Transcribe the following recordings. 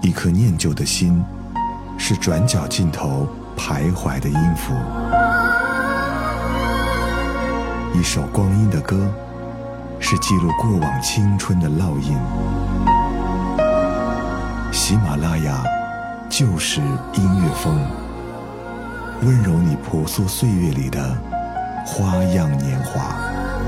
一颗念旧的心，是转角尽头徘徊的音符。一首光阴的歌，是记录过往青春的烙印。喜马拉雅就是音乐风，温柔你朴素岁月里的花样年华。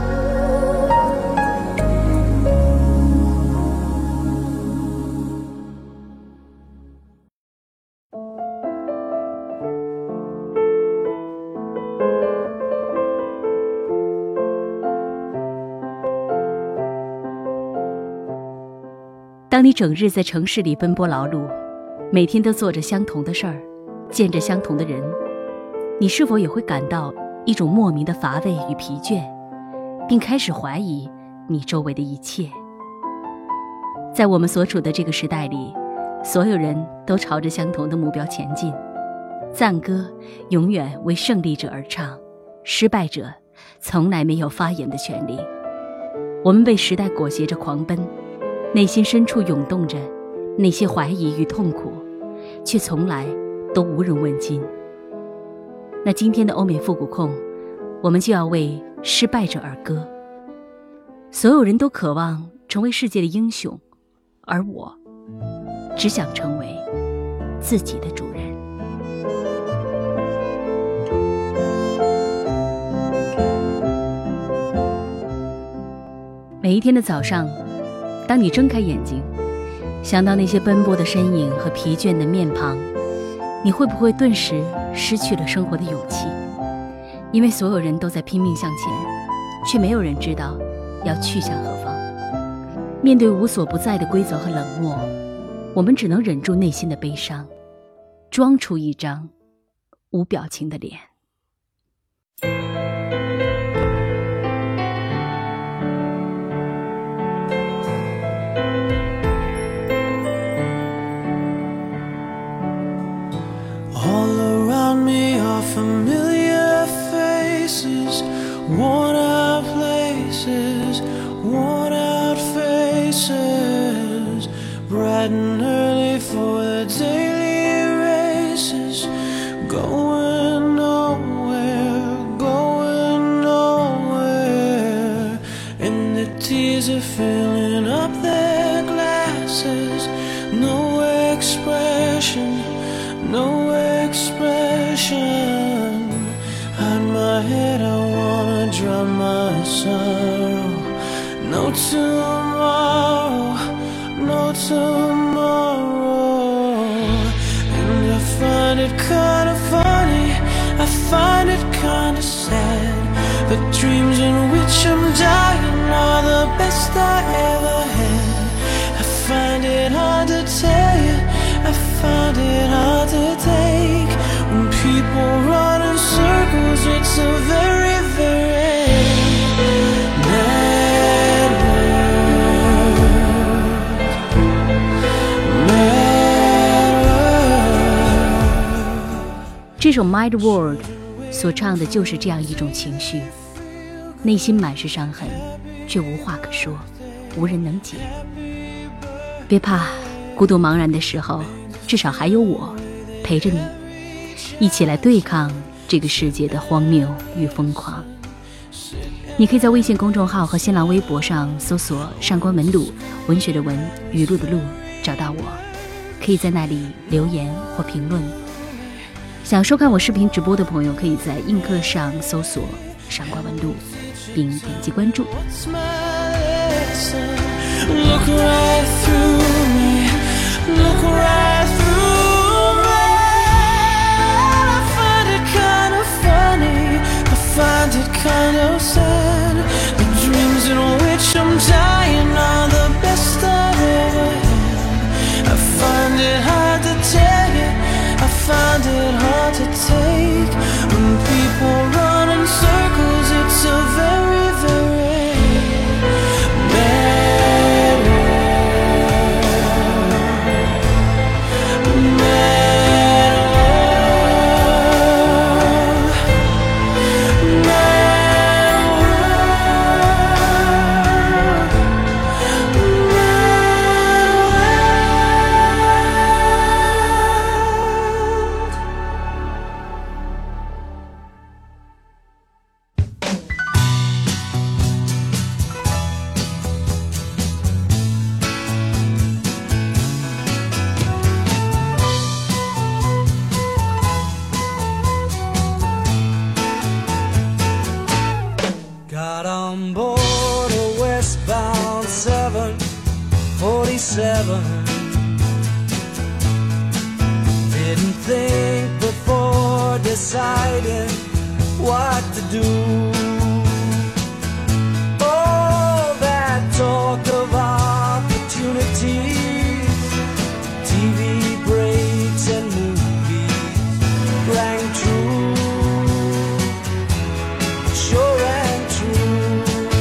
当你整日在城市里奔波劳碌，每天都做着相同的事儿，见着相同的人，你是否也会感到一种莫名的乏味与疲倦，并开始怀疑你周围的一切？在我们所处的这个时代里，所有人都朝着相同的目标前进，赞歌永远为胜利者而唱，失败者从来没有发言的权利。我们被时代裹挟着狂奔，内心深处涌动着那些怀疑与痛苦，却从来都无人问津。那今天的欧美复古控，我们就要为失败者而歌。所有人都渴望成为世界的英雄，而我只想成为自己的主人。每一天的早上，当你睁开眼睛，想到那些奔波的身影和疲倦的面庞，你会不会顿时失去了生活的勇气？因为所有人都在拼命向前，却没有人知道要去向何方。面对无所不在的规则和冷漠，我们只能忍住内心的悲伤，装出一张无表情的脸。 Familiar faces, worn out places, worn out faces, bright and early for the daily races, going nowhere, and the tears are filling up their glasses, no expression, no expression. Hide my head, I wanna drown my sorrow. No tomorrow, no tomorrow. And I find it kinda funny, I find it kinda sad. The dreams in which I'm dying are the best I ever had. I find it hard to tell you, I find it hard to take. When people run in circles, it's a very, very mad world. Mad world. 这首 Mad World 所唱的就是这样一种情绪，内心满是伤痕，却无话可说，无人能解。别怕，孤独茫然的时候，至少还有我陪着你，一起来对抗这个世界的荒谬与疯狂。你可以在微信公众号和新浪微博上搜索上官文露，文学的文，语录的录，找到我，可以在那里留言或评论。想收看我视频直播的朋友，可以在映客上搜索上官文露，并点击关注。 Look right through me, look right through me. I find it kind of funny, I find it kind of sad. The dreams in which I'm dying are the best I've ever had. I find it hard to tell you, I find it hard to take. When people run in circles, it's a very, very mad world. heaven. Didn't think before deciding what to do. Oh, that talk of opportunities, TV breaks and movies rang true, sure and true.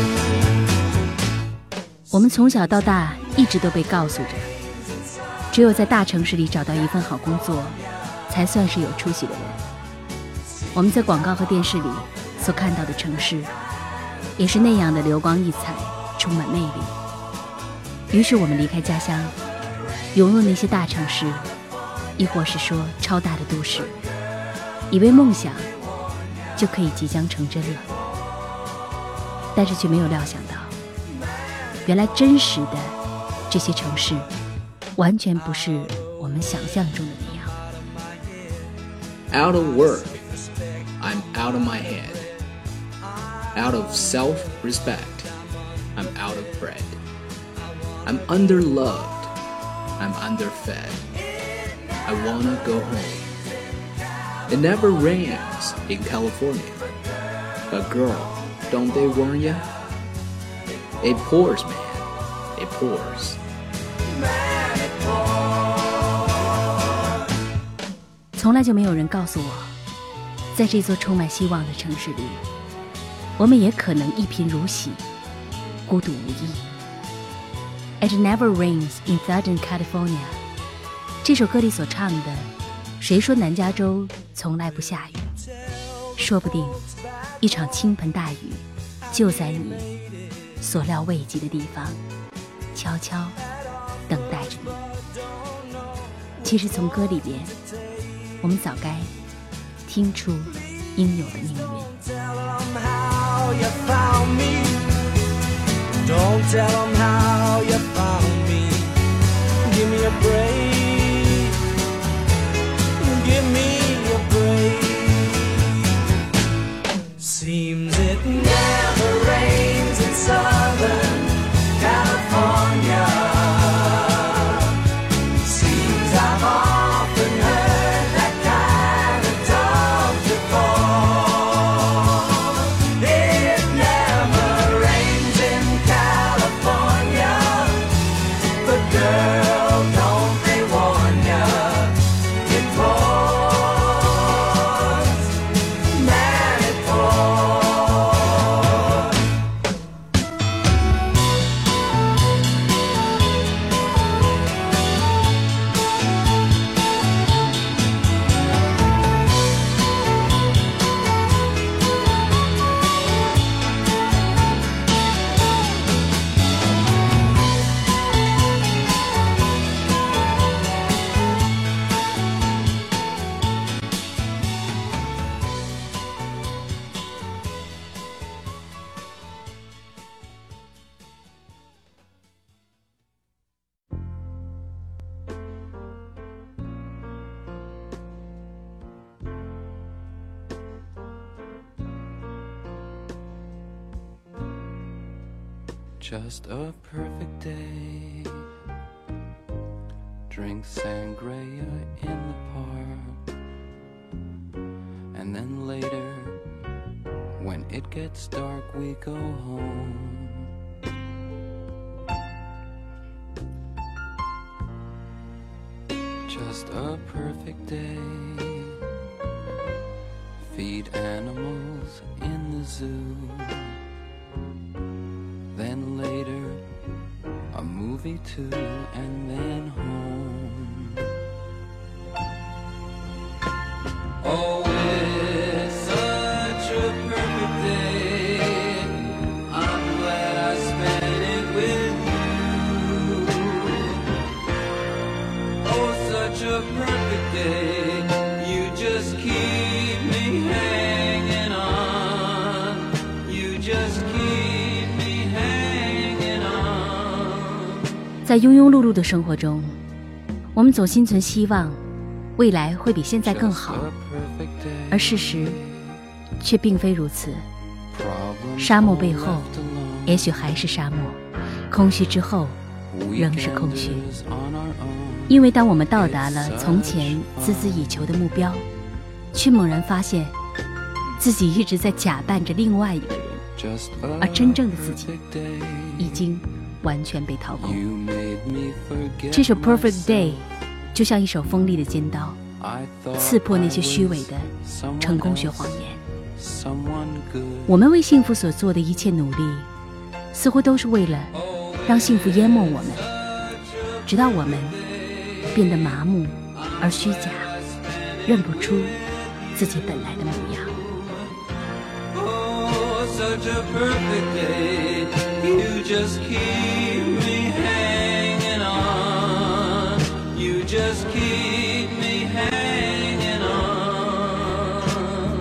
我们从小到大一直都被告诉着，只有在大城市里找到一份好工作，才算是有出息的人。我们在广告和电视里所看到的城市，也是那样的流光溢彩，充满魅力。于是我们离开家乡，涌入那些大城市，亦或是说超大的都市，以为梦想就可以即将成真了。但是却没有料想到，原来真实的这些城市完全不是我们想象中的那样。 Out of work, I'm out of my head. Out of self-respect, I'm out of bread. I'm underloved, I'm underfed. I wanna go home. It never rains in California. But girl, don't they warn ya? It pours, man, it pours. 从来就没有人告诉我，在这座充满希望的城市里，我们也可能一贫如洗，孤独无依。It never rains in Southern California。这首歌里所唱的，谁说南加州从来不下雨？说不定，一场倾盆大雨就在你所料未及的地方，悄悄等待着你。其实从歌里边，我们早该听出应有的命运。 Don't tell them how you found me. Give me a break. Give me a break. Seems it never rains in Southern California. Seems I've often heard that kind of talk before. It never rains in California, but girl, don't they warn ya? It pours, man, it pours. Just a perfect day. Drink sangria in the park. And then later, when it gets dark, we go home. Just a perfect day. Feed animals in the zoo. Then later, a movie too, and then home. Oh, it's such a perfect day. I'm glad I spent it with you. Oh, such a perfect day. You just keep me hanging on. You just keep me hanging on. 在庸庸碌碌的生活中，我们总心存希望，未来会比现在更好，而事实却并非如此。沙漠背后，也许还是沙漠；空虚之后， 仍是空虚。因为当我们到达了从前孜孜以求的目标，却猛然发现自己一直在假扮着另外一个人，而真正的自己已经完全被掏空。这首 Perfect Day 就像一手锋利的尖刀，刺破那些虚伪的成功学谎言。我们为幸福所做的一切努力，似乎都是为了让幸福淹没我们，直到我们变得麻木而虚假，认不出自己本来的模样。 Such a perfect day, you just keep me hanging on, you just keep me hanging on.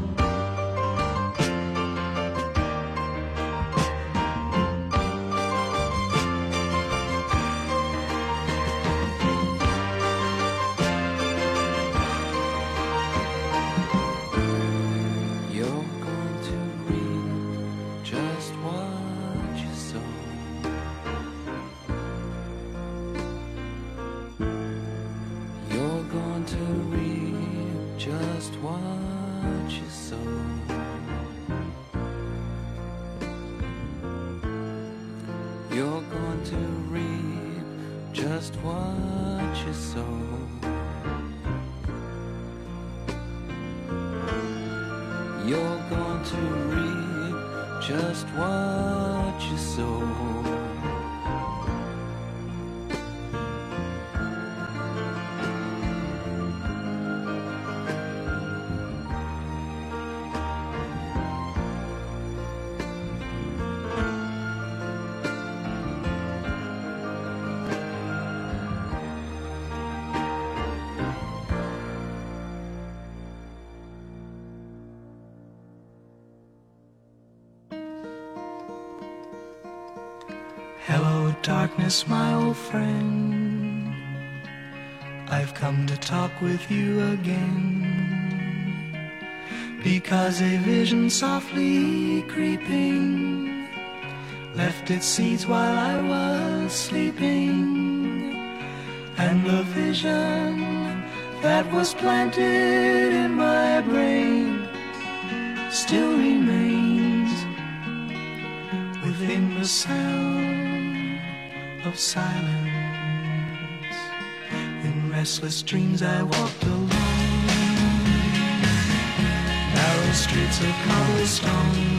You're going to read just what you sow. You're going to reap just what you sow. You're going to reap just what you sow. You're going to reap just what you sow. Hello, darkness, my old friend. I've come to talk with you again, because a vision softly creeping left its seeds while I was sleeping, and the vision that was planted in my brain still remains within the sound of silence. In restless dreams I walked alone, narrow streets of cobblestone,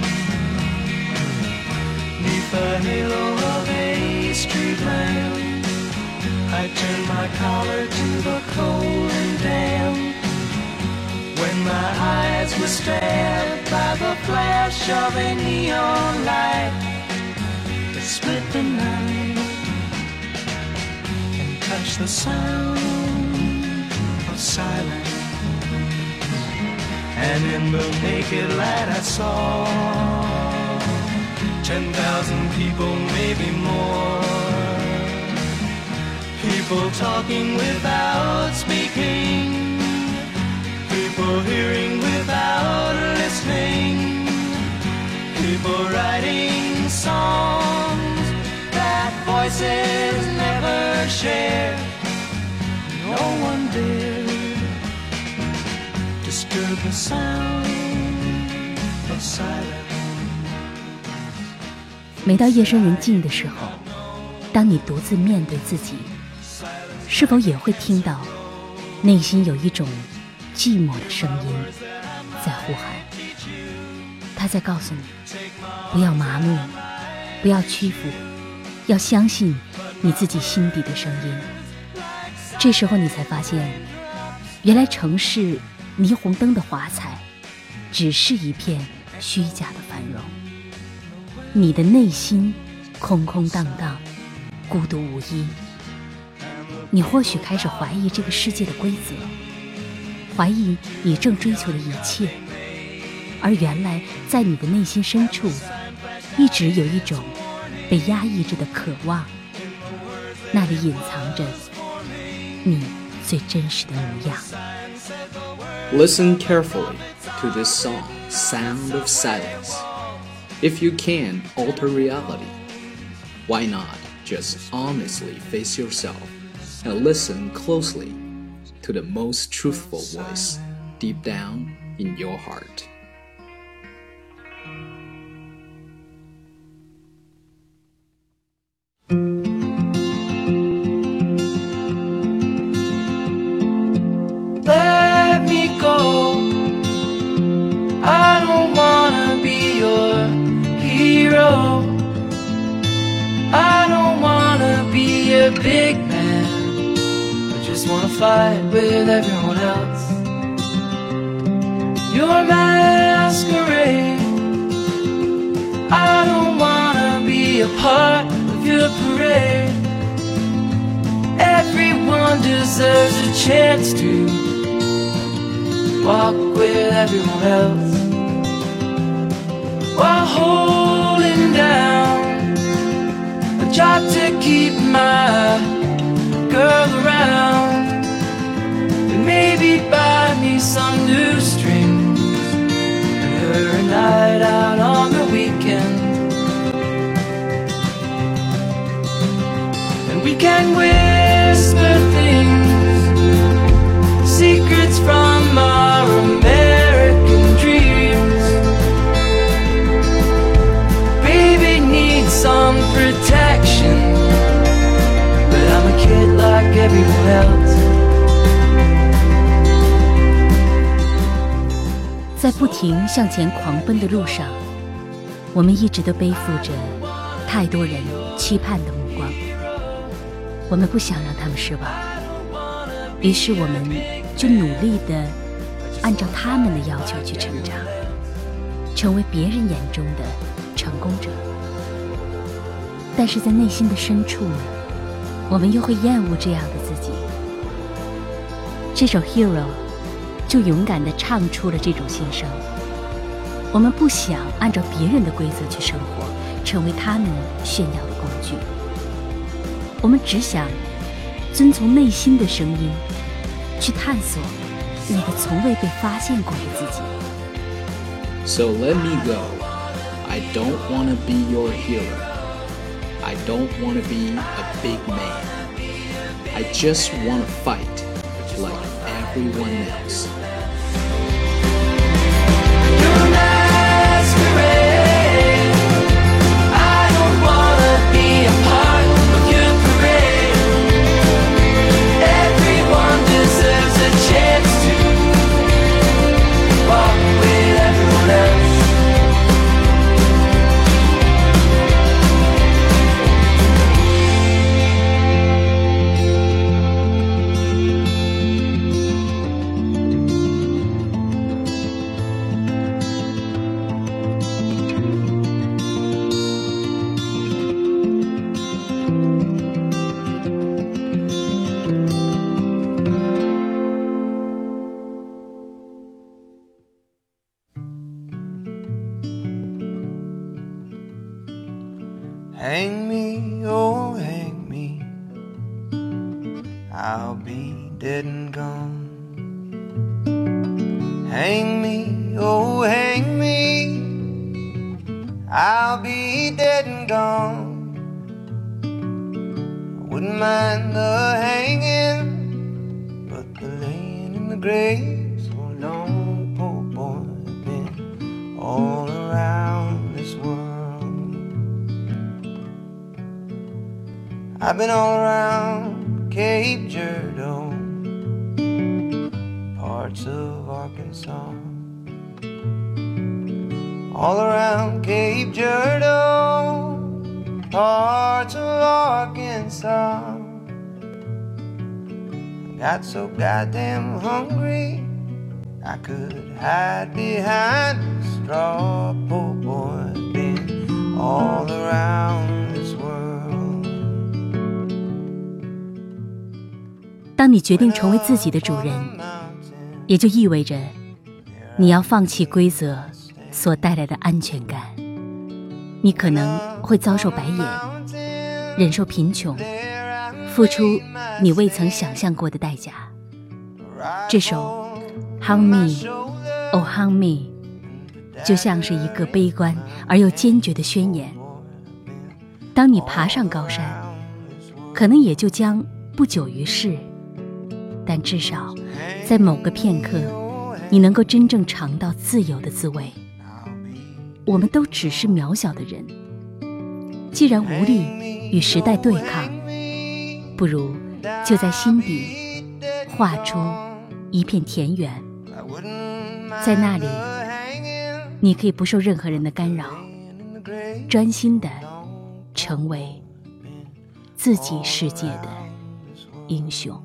neath the halo of a street lamp. I turned my collar to the cold and damp, when my eyes were stabbed by the flash of a neon light that split the night and touched the sound of silence. And in the naked light I saw 10,000 people, maybe more, people talking without speaking, people hearing without listening, people writing songs that voices never share. No one dared disturb the sound of silence. 每到夜深人静的时候，当你独自面对自己，是否也会听到内心有一种寂寞的声音在呼喊？他在告诉你，不要麻木，不要屈服，要相信你自己心底的声音。这时候你才发现，原来城市霓虹灯的华彩只是一片虚假的繁荣，你的内心空空荡荡，孤独无依。你或许开始怀疑这个世界的规则，怀疑你正追求的一切，而原来在你的内心深处一直有一种被压抑着的渴望，那里隐藏着你最真实的模样。 Listen carefully to this song, Sound of Silence. If you can alter reality, why not? just honestly face yourself and listen closely to the most truthful voice deep down in your heart. Let me go. I don't wanna be your hero. I don't wanna be a big man. I just wanna fight with everyone else. Your masquerade. I don't wanna be a part of your parade. Everyone deserves a chance to walk with everyone else, while holding down a job to keep my girl around, and maybe buy me some new strings and her a night out on the weekend. And we can whisper things, secrets from our American dreams. Baby needs some protection, but I'm a kid like everyone else. 在不停向前狂奔的路上，我们一直都背负着太多人期盼的目光，我们不想让他们失望，于是我们就努力地按照他们的要求去成长，成为别人眼中的成功者。但是在内心的深处呢，我们又会厌恶这样的自己。这首 Hero 就勇敢地唱出了这种心声。我们不想按照别人的规则去生活，成为他们炫耀的工具。我们只想遵从内心的声音，去探索那个从未被发现过的自己。 So let me go. I don't want to be your hero. I don't want to be a big man. I just want to fight like everyone else. Your masquerade. I don't wanna be a part of your parade. Everyone deserves a chance to walk with everyone else. Hang me, oh hang me, I'll be dead and gone. Hang me, oh hang me, I'll be dead and gone. I wouldn't mind the hanging, but the laying in the grave so long, poor boy, I've been all around this world. I've been all around Cape Girardeau, parts of Arkansas. All around Cape Girardeau, parts of Arkansas. I got so goddamn hungry, I could hide behind a straw. Poor boy, been all around this world. 当你决定成为自己的主人，也就意味着你要放弃规则所带来的安全感。你可能会遭受白眼，忍受贫穷，付出你未曾想象过的代价。这首 Hang Me, Oh Hang Me 就像是一个悲观而又坚决的宣言。当你爬上高山， 可能也就将不久于世，但至少在某个片刻，你能够真正尝到自由的滋味。我们都只是渺小的人，既然无力与时代对抗，不如就在心底画出一片田园，在那里你可以不受任何人的干扰，专心地成为自己世界的英雄。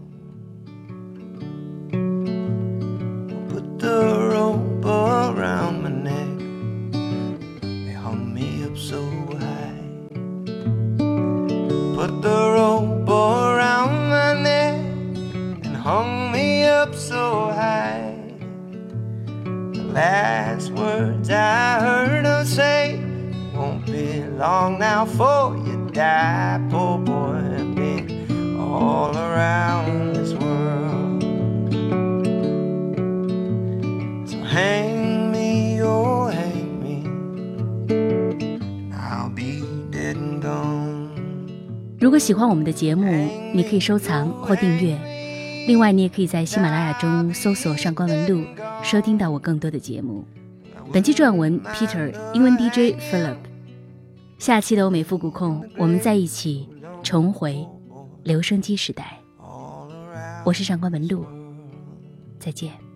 Put the rope around my neck and hung me up so high. The last words I heard her say, won't be long now for you die. Poor boy, I've been all around this world. So hang me, oh hang me, I'll be dead and gone. 如果喜欢我们的节目，你可以收藏或订阅。另外，你也可以在喜马拉雅中搜索上官文露，收听到我更多的节目。本期撰文 Peter， 英文 DJ Philip。下期的欧美复古控，我们在一起重回留声机时代。我是上官文露，再见。